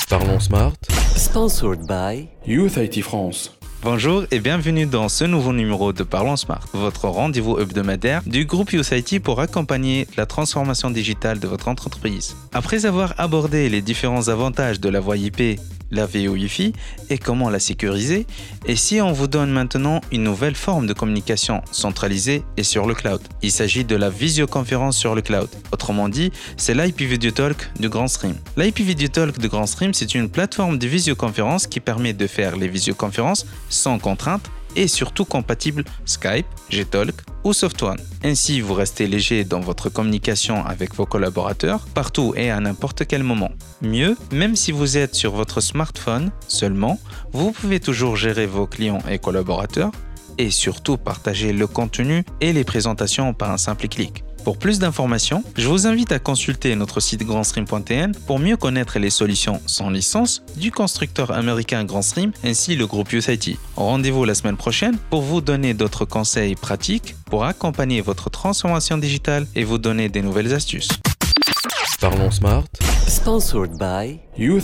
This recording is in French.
Parlons Smart. Sponsored by Youth IT France. Bonjour et bienvenue dans ce nouveau numéro de Parlons Smart, votre rendez-vous hebdomadaire du groupe Youth IT pour accompagner la transformation digitale de votre entreprise. Après avoir abordé les différents avantages de la voie IP, la VoIP et comment la sécuriser, et si on vous donne maintenant une nouvelle forme de communication centralisée et sur le cloud. Il s'agit de la visioconférence sur le cloud. Autrement dit, c'est l'IP Video Talk de Grandstream. L'IP Video Talk de Grandstream, c'est une plateforme de visioconférence qui permet de faire les visioconférences sans contrainte et surtout compatible Skype, Gtalk ou SoftOne. Ainsi, vous restez léger dans votre communication avec vos collaborateurs, partout et à n'importe quel moment. Mieux, même si vous êtes sur votre smartphone seulement, vous pouvez toujours gérer vos clients et collaborateurs et surtout partager le contenu et les présentations par un simple clic. Pour plus d'informations, je vous invite à consulter notre site grandstream.tn pour mieux connaître les solutions sans licence du constructeur américain Grandstream ainsi le groupe Youth IT. Rendez-vous la semaine prochaine pour vous donner d'autres conseils pratiques pour accompagner votre transformation digitale et vous donner des nouvelles astuces. Parlons Smart. Sponsored by Youth